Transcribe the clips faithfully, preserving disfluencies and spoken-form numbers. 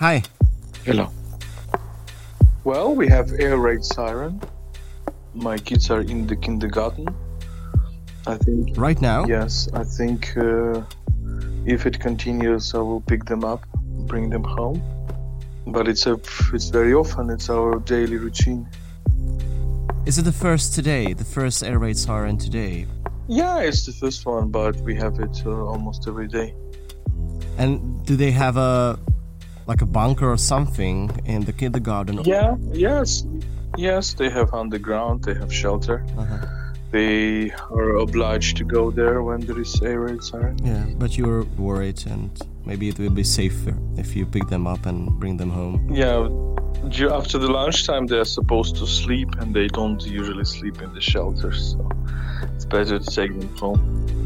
Hi. Hello. Well, we have air raid siren. My kids are in the kindergarten. I think... Right now? Yes, I think uh, if it continues, I will pick them up, bring them home. But it's a, it's very often, it's our daily routine. Is it the first today, the first air raid siren today? Yeah, it's the first one, but we have it uh, almost every day. And do they have a, like a bunker or something in the kindergarten? Yeah, yes, yes, they have underground, they have shelter. Uh-huh. They are obliged to go there when there is air raid siren. Yeah, but you're worried and maybe it will be safer if you pick them up and bring them home. Yeah, after the lunchtime they're supposed to sleep and they don't usually sleep in the shelters, so it's better to take them home.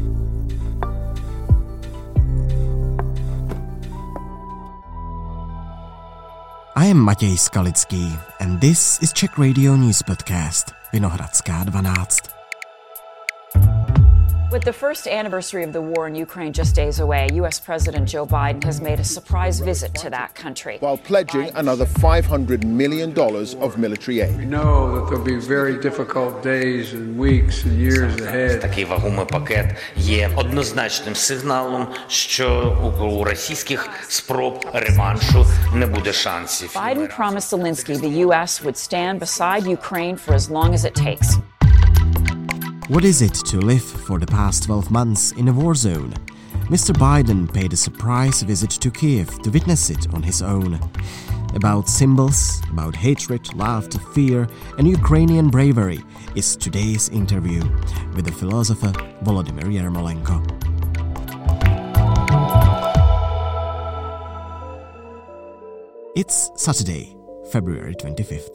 I am Matěj Skalický and this is Czech Radio News Podcast, Vinohradská dvanáct. With the first anniversary of the war in Ukraine just days away, U S President Joe Biden has made a surprise visit to that country. While pledging another five hundred million dollars of military aid. We know that there'll be very difficult days and weeks and years ahead. Такий вагомий пакет є однозначним сигналом, що у російських спроб реваншу не буде шансів. Biden promised Zelensky the U S would stand beside Ukraine for as long as it takes. What is it to live for the past twelve months in a war zone? Mister Biden paid a surprise visit to Kiev to witness it on his own. About symbols, about hatred, laughter, fear, and Ukrainian bravery is today's interview with the philosopher Volodymyr Yermolenko. It's Saturday, February twenty-fifth.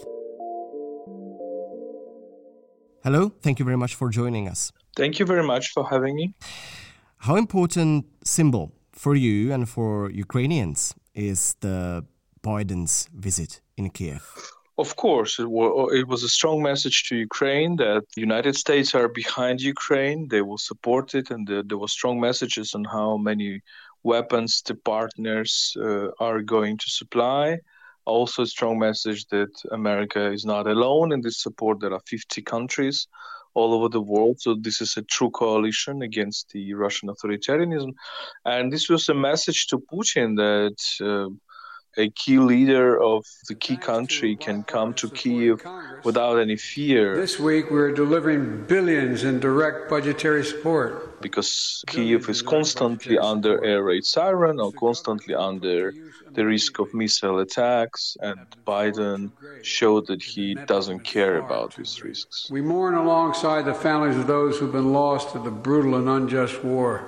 Hello, thank you very much for joining us. Thank you very much for having me. How important symbol for you and for Ukrainians is the Biden's visit in Kiev? Of course, it, w- it was a strong message to Ukraine that the United States are behind Ukraine, they will support it, and the, there were strong messages on how many weapons the partners uh, are going to supply. Also a strong message that America is not alone in this support. There are fifty countries all over the world. So this is a true coalition against the Russian authoritarianism. And this was a message to Putin that uh, a key leader of the key country can come to Kyiv without any fear. This week we're delivering billions in direct budgetary support. Because Kyiv is constantly under air raid siren or constantly under the risk of missile attacks, and Biden showed that he doesn't care about these risks. We mourn alongside the families of those who've been lost to the brutal and unjust war.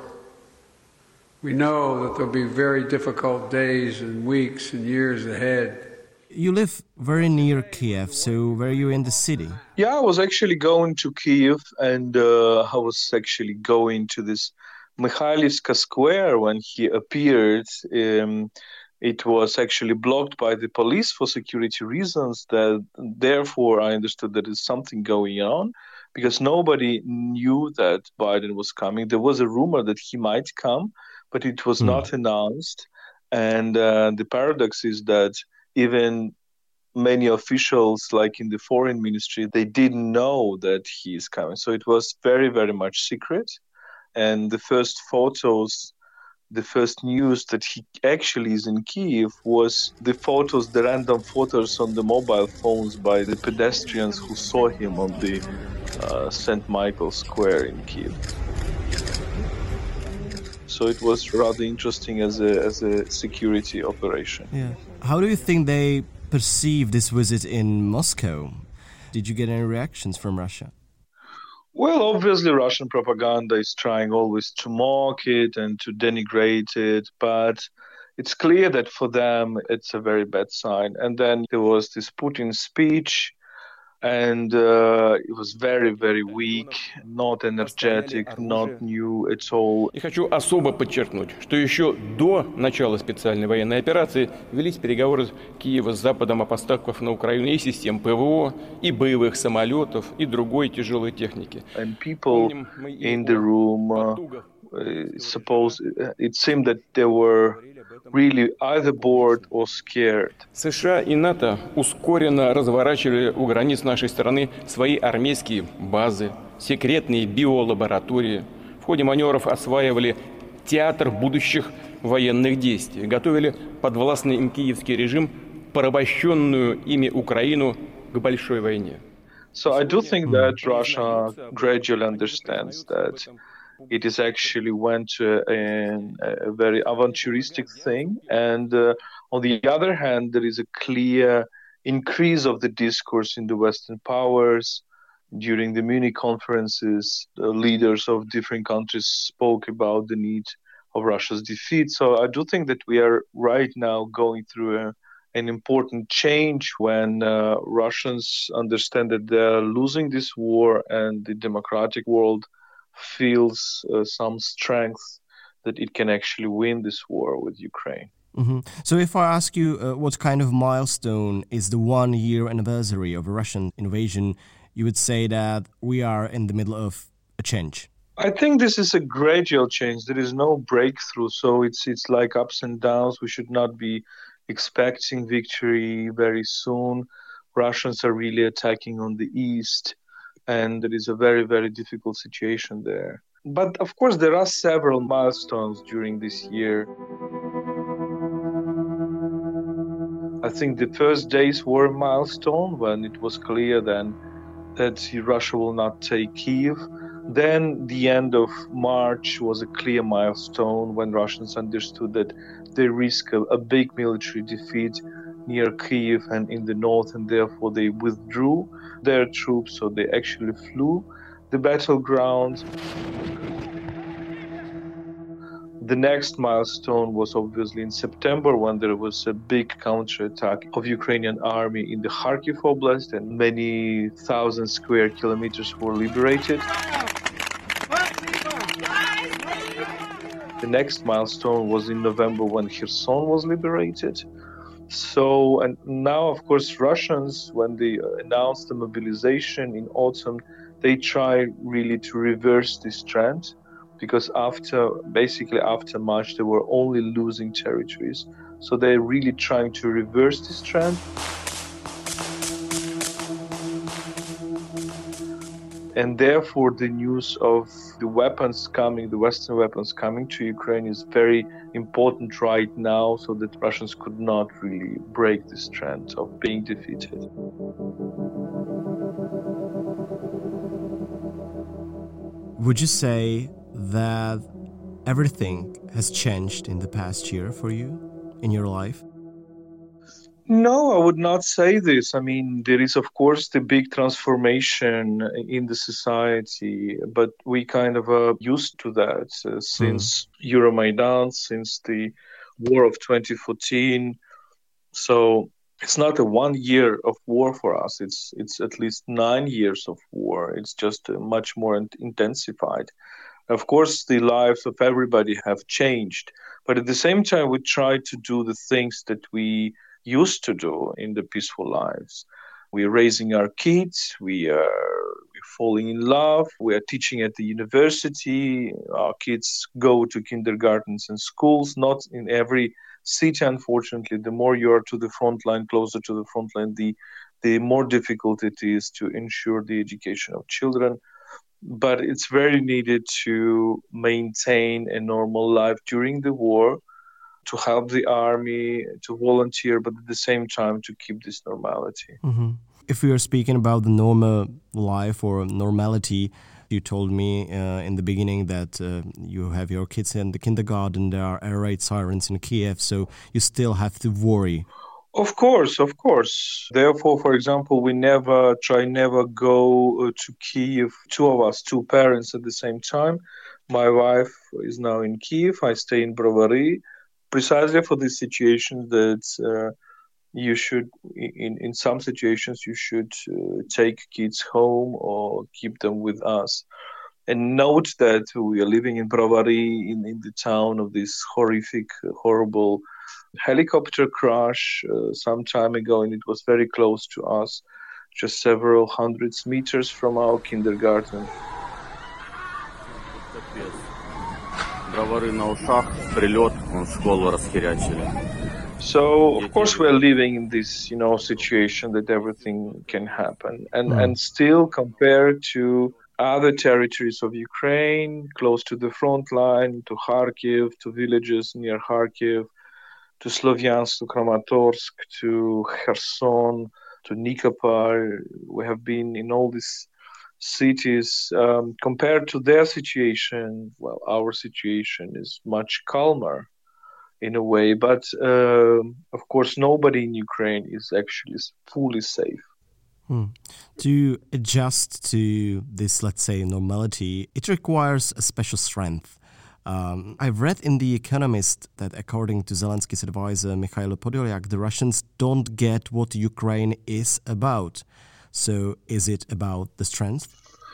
We know that there'll be very difficult days and weeks and years ahead. You live very near Kiev, so were you in the city? Yeah, I was actually going to Kyiv, and uh, I was actually going to this Mikhailivska square when he appeared. Um, it was actually blocked by the police for security reasons. That therefore, I understood that there's something going on, because nobody knew that Biden was coming. There was a rumor that he might come, but it was mm. not announced. And uh, the paradox is that even many officials, like in the foreign ministry, they didn't know that he is coming. So it was very, very much secret. And the first photos, the first news that he actually is in Kyiv was the photos, the random photos on the mobile phones by the pedestrians who saw him on the uh, Saint Michael Square in Kyiv. So it was rather interesting as a as a security operation. Yeah. How do you think they perceive this visit in Moscow? Did you get any reactions from Russia? Well, obviously Russian propaganda is trying always to mock it and to denigrate it, but it's clear that for them it's a very bad sign. And then there was this Putin speech, and uh, it was very, very weak, not energetic, not new at all. И хочу особо подчеркнуть, что еще до начала специальной военной операции велись переговоры Киева с Западом о поставках на Украину и систем ПВО, и боевых самолетов, и другой тяжелой техники. And people in the room, uh, suppose it seemed that they were really either bored or scared. США и НАТО ускоренно разворачивали у границ нашей страны свои армейские базы, секретные биолаборатории. В ходе маневров осваивали театр будущих военных действий, готовили подвластный им киевский режим, порабощенную ими Украину к большой войне. So I do think that Russia gradually understands that it is actually went to a, a very aventuristic thing. And uh, on the other hand, there is a clear increase of the discourse in the Western powers. During the Munich conferences, the leaders of different countries spoke about the need of Russia's defeat. So I do think that we are right now going through a, an important change when uh, Russians understand that they're losing this war and the democratic world feels uh, some strength that it can actually win this war with Ukraine. Mm-hmm. So if I ask you uh, what kind of milestone is the one-year anniversary of a Russian invasion, you would say that we are in the middle of a change. I think this is a gradual change. There is no breakthrough, so it's it's like ups and downs. We should not be expecting victory very soon. Russians are really attacking on the east, and there is a very, very difficult situation there. But of course, there are several milestones during this year. I think the first days were a milestone when it was clear then that Russia will not take Kyiv. Then the end of March was a clear milestone when Russians understood that they risk a, a big military defeat near Kyiv and in the north, and therefore they withdrew their troops, so they actually flew the battleground. The next milestone was obviously in September when there was a big counterattack of Ukrainian army in the Kharkiv Oblast and many thousand square kilometers were liberated. The next milestone was in November when Kherson was liberated. So, and now, of course, Russians, when they announced the mobilization in autumn, they try really to reverse this trend. Because after, basically after March, they were only losing territories. So they're really trying to reverse this trend. And therefore, the news of the weapons coming, the Western weapons coming to Ukraine is very important right now, so that Russians could not really break this trend of being defeated. Would you say that everything has changed in the past year for you, in your life? No, I would not say this. I mean, there is, of course, the big transformation in the society, but we kind of are used to that uh, since mm. Euromaidan, since the war of twenty fourteen. So it's not a one year of war for us. It's it's at least nine years of war. It's just uh, much more intensified. Of course, the lives of everybody have changed, but at the same time, we try to do the things that we used to do in the peaceful lives. We're raising our kids, we are we're falling in love, we are teaching at the university, our kids go to kindergartens and schools, not in every city, unfortunately. The more you are to the front line, closer to the front line, the, the more difficult it is to ensure the education of children. But it's very needed to maintain a normal life during the war, to help the army, to volunteer, but at the same time to keep this normality. Mm-hmm. If we are speaking about the normal life or normality, you told me uh, in the beginning that uh, you have your kids in the kindergarten, there are air raid sirens in Kiev, so you still have to worry. Of course, of course. Therefore, for example, we never try, never go uh, to Kyiv, two of us, two parents at the same time. My wife is now in Kyiv, I stay in Brovary, precisely for this situation that uh, you should, in, in some situations, you should uh, take kids home or keep them with us. And note that we are living in Brovary, in, in the town of this horrific, horrible helicopter crash uh, some time ago, and it was very close to us, just several hundreds meters from our kindergarten. So, of course, we're living in this, you know, situation that everything can happen. And, mm. and still, compared to other territories of Ukraine, close to the front line, to Kharkiv, to villages near Kharkiv, to Slovyansk, to Kramatorsk, to Kherson, to Nikopol, we have been in all these cities. Um, compared to their situation, well, our situation is much calmer in a way, but uh, of course nobody in Ukraine is actually fully safe. Hmm. To adjust to this, let's say, normality, it requires a special strength. Um, I've read in The Economist that according to Zelensky's advisor Mikhailo Podolyak, the Russians don't get what Ukraine is about. So is it about the strength?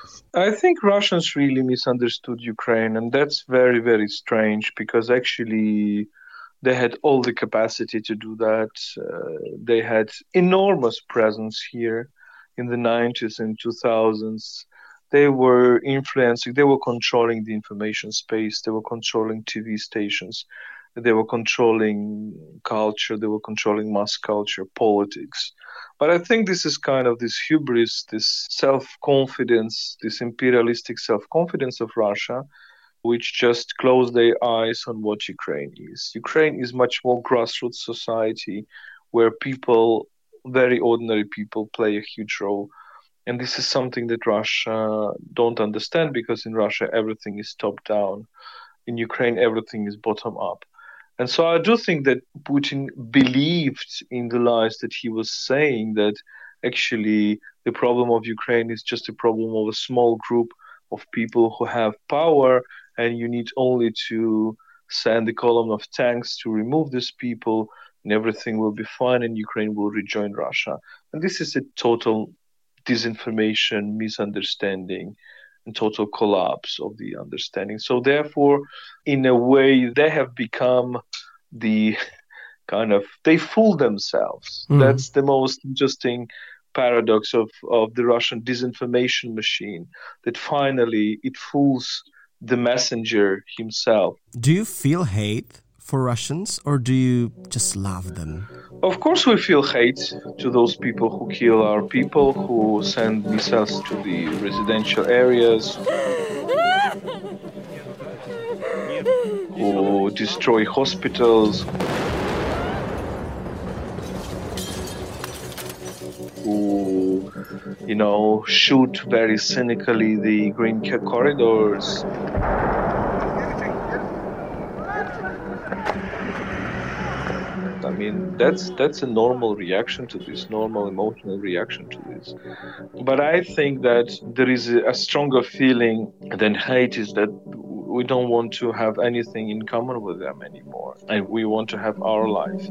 I think Russians really misunderstood Ukraine, and that's very, very strange because actually they had all the capacity to do that. Uh, they had enormous presence here in the nineties and two thousands. They were influencing, they were controlling the information space, they were controlling T V stations, they were controlling culture, they were controlling mass culture, politics. But I think this is kind of this hubris, this self-confidence, this imperialistic self-confidence of Russia, which just close their eyes on what Ukraine is. Ukraine is much more grassroots society where people, very ordinary people, play a huge role. And this is something that Russia don't understand because in Russia everything is top down. In Ukraine everything is bottom up. And so I do think that Putin believed in the lies that he was saying, that actually the problem of Ukraine is just a problem of a small group of people who have power, and you need only to send a column of tanks to remove these people, and everything will be fine, and Ukraine will rejoin Russia. And this is a total disinformation, misunderstanding, and total collapse of the understanding. So therefore, in a way, they have become the kind of, they fool themselves. Mm. That's the most interesting paradox of, of the Russian disinformation machine, that finally it fools the messenger himself. Do you feel hate for Russians, or do you just love them? Of course we feel hate to those people who kill our people, who send missiles to the residential areas, who destroy hospitals, who, you know, shoot very cynically the green corridors. I mean, that's that's a normal reaction to this, normal emotional reaction to this. But I think that there is a, a stronger feeling than hate, is that we don't want to have anything in common with them anymore, and we want to have our life.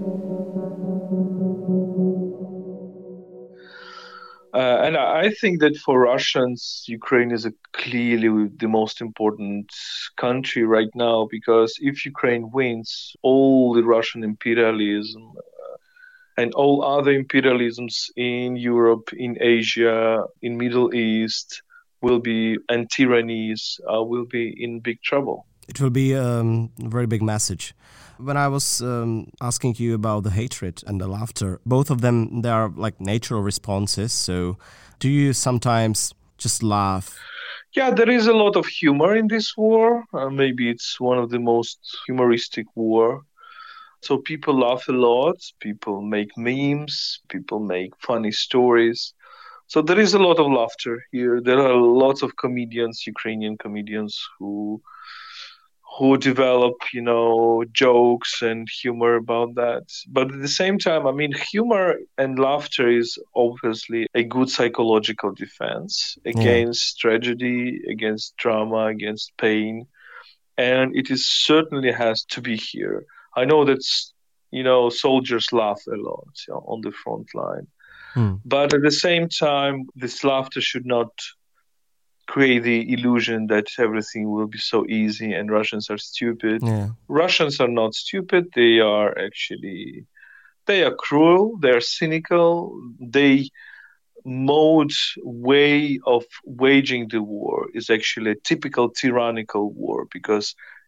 Uh, and I think that for Russians, Ukraine is a clearly the most important country right now, because if Ukraine wins, all the Russian imperialism uh, and all other imperialisms in Europe, in Asia, in Middle East will be, and tyrannies uh, will be in big trouble. It will be um, a very big message. When I was um, asking you about the hatred and the laughter, both of them, they are like natural responses. So do you sometimes just laugh? Yeah, there is a lot of humor in this war. Uh, maybe it's one of the most humoristic war. So people laugh a lot. People make memes. People make funny stories. So there is a lot of laughter here. There are lots of comedians, Ukrainian comedians, who who develop, you know, jokes and humor about that. But at the same time, I mean, humor and laughter is obviously a good psychological defense against yeah. tragedy, against drama, against pain. And it is certainly has to be here. I know that, you know, soldiers laugh a lot, you know, on the front line. Hmm. But at the same time, this laughter should not create the illusion that everything will be so easy and Russians are stupid. Yeah. Russians are not stupid. They are actually, they are cruel. They are cynical. They mode way of waging the war is actually a typical tyrannical war, because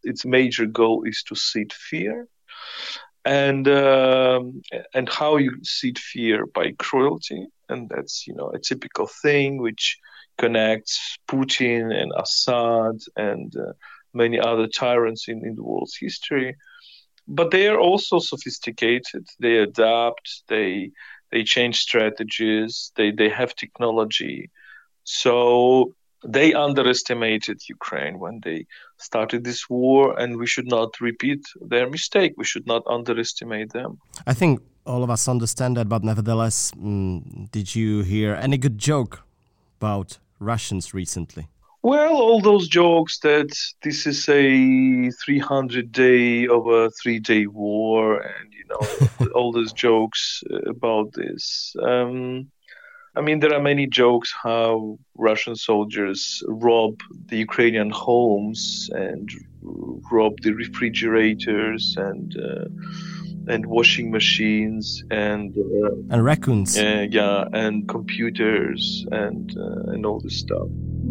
its major goal is to seed fear. And um, and how you seed fear? By cruelty. And that's, you know, a typical thing which connects Putin and Assad and uh, many other tyrants in, in the world's history. But they are also sophisticated. They adapt. They they change strategies. They they have technology. So they underestimated Ukraine when they started this war, and we should not repeat their mistake. We should not underestimate them. I think all of us understand that, but nevertheless, mm, did you hear any good joke about Russians recently? Well, all those jokes that this is a three hundred day of a three-day war, and, you know, all those jokes about this. Um, I mean, there are many jokes how Russian soldiers rob the Ukrainian homes and rob the refrigerators and uh, and washing machines and uh, and raccoons. Uh, yeah, and computers and uh, and all this stuff.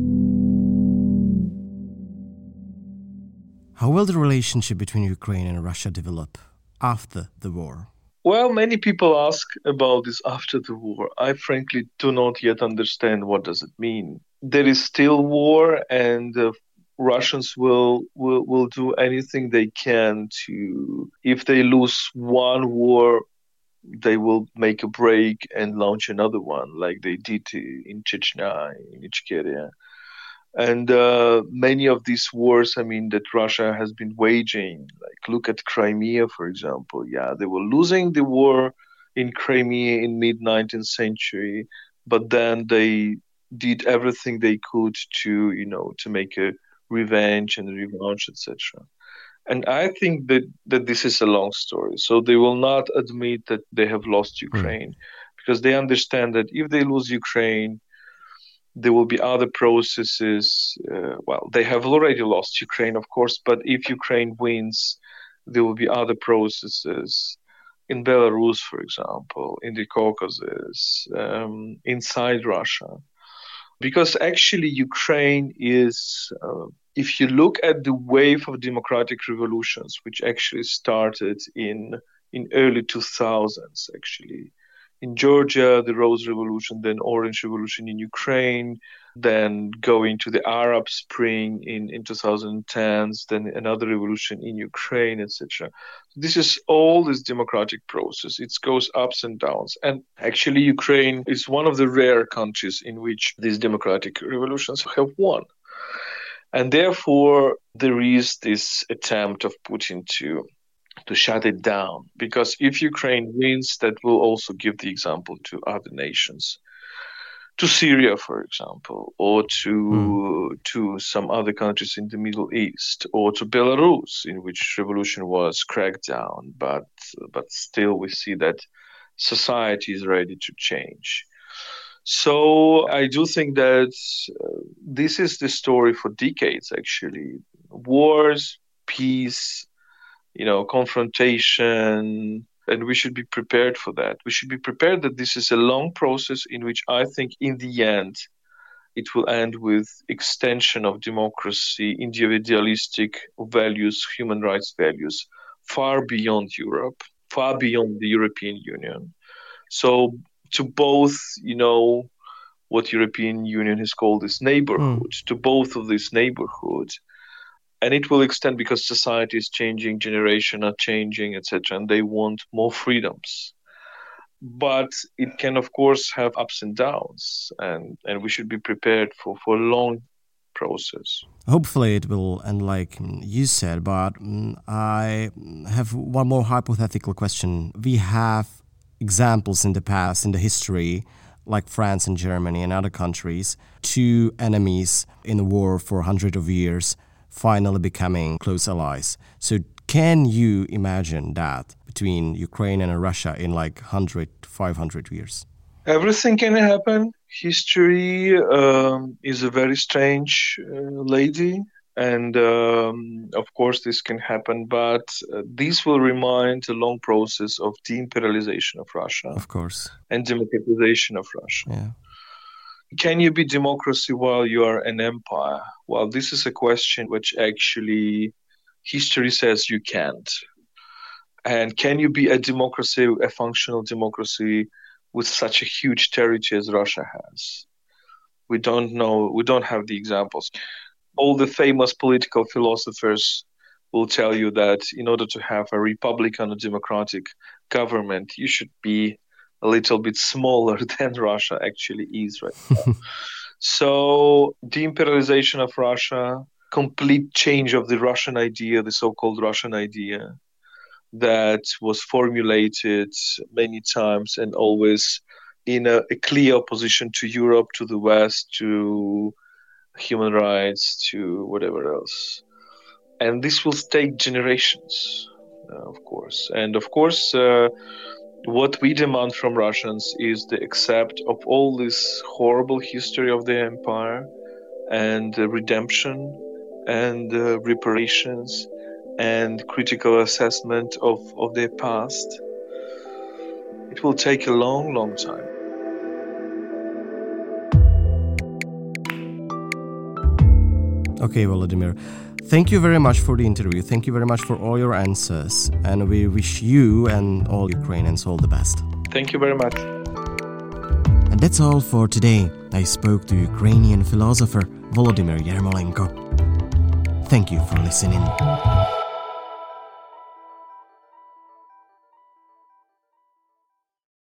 How will the relationship between Ukraine and Russia develop after the war? Well, many people ask about this after the war. I frankly do not yet understand what does it mean. There is still war, and uh, Russians will, will will do anything they can to, if they lose one war, they will make a break and launch another one, like they did in Chechnya, in Ichkeria. And uh, many of these wars, I mean, that Russia has been waging, like look at Crimea, for example. Yeah, they were losing the war in Crimea in mid-nineteenth century, but then they did everything they could to, you know, to make a revenge and revanche, et cetera. And I think that, that this is a long story. So they will not admit that they have lost Ukraine, mm. because they understand that if they lose Ukraine, there will be other processes. Uh, well, they have already lost Ukraine, of course, but if Ukraine wins, there will be other processes in Belarus, for example, in the Caucasus, um, inside Russia. Because actually Ukraine is, uh, if you look at the wave of democratic revolutions, which actually started in, in early two thousands, actually, in Georgia, the Rose Revolution, then Orange Revolution in Ukraine, then going to the Arab Spring in, in twenty tens, then another revolution in Ukraine, et cetera. This is all this democratic process. It goes ups and downs. And actually, Ukraine is one of the rare countries in which these democratic revolutions have won. And therefore, there is this attempt of Putin to to shut it down, because if Ukraine wins, that will also give the example to other nations, to Syria, for example, or to mm. to some other countries in the Middle East, or to Belarus, in which revolution was cracked down, but but still we see that society is ready to change. So I do think that uh, this is the story for decades, actually. Wars, peace, you know, confrontation, and we should be prepared for that. We should be prepared that this is a long process in which I think in the end it will end with extension of democracy, individualistic values, human rights values, far beyond Europe, far beyond the European Union. So to both, you know, what European Union has called this neighborhood, mm. to both of these neighborhoods. And it will extend because society is changing, generations are changing, et cetera, and they want more freedoms. But it can, of course, have ups and downs, and, and we should be prepared for, for a long process. Hopefully it will end like you said, but I have one more hypothetical question. We have examples in the past, in the history, like France and Germany and other countries, two enemies in a war for hundreds of years, finally becoming close allies. So can you imagine that between Ukraine and Russia in like one hundred, five hundred years? Everything can happen. History um, is a very strange uh, lady. And um, of course this can happen, but uh, this will remind a long process of de-imperialization of Russia. Of course. And democratization of Russia. Yeah. Can you be democracy while you are an empire? Well, this is a question which actually history says you can't. And can you be a democracy, a functional democracy, with such a huge territory as Russia has? We don't know, we don't have the examples. All the famous political philosophers will tell you that in order to have a republican or democratic government, you should be a little bit smaller than Russia actually is right now. So de-imperialization of Russia, complete change of the Russian idea, the so-called Russian idea, that was formulated many times and always in a, a clear opposition to Europe, to the West, to human rights, to whatever else. And this will take generations, uh, of course. And of course, uh, what we demand from Russians is the accept of all this horrible history of the empire and uh, redemption and uh, reparations and critical assessment of, of their past. It will take a long, long time. Okay, Volodymyr, thank you very much for the interview. Thank you very much for all your answers. And we wish you and all Ukrainians all the best. Thank you very much. And that's all for today. I spoke to Ukrainian philosopher Volodymyr Yermolenko. Thank you for listening.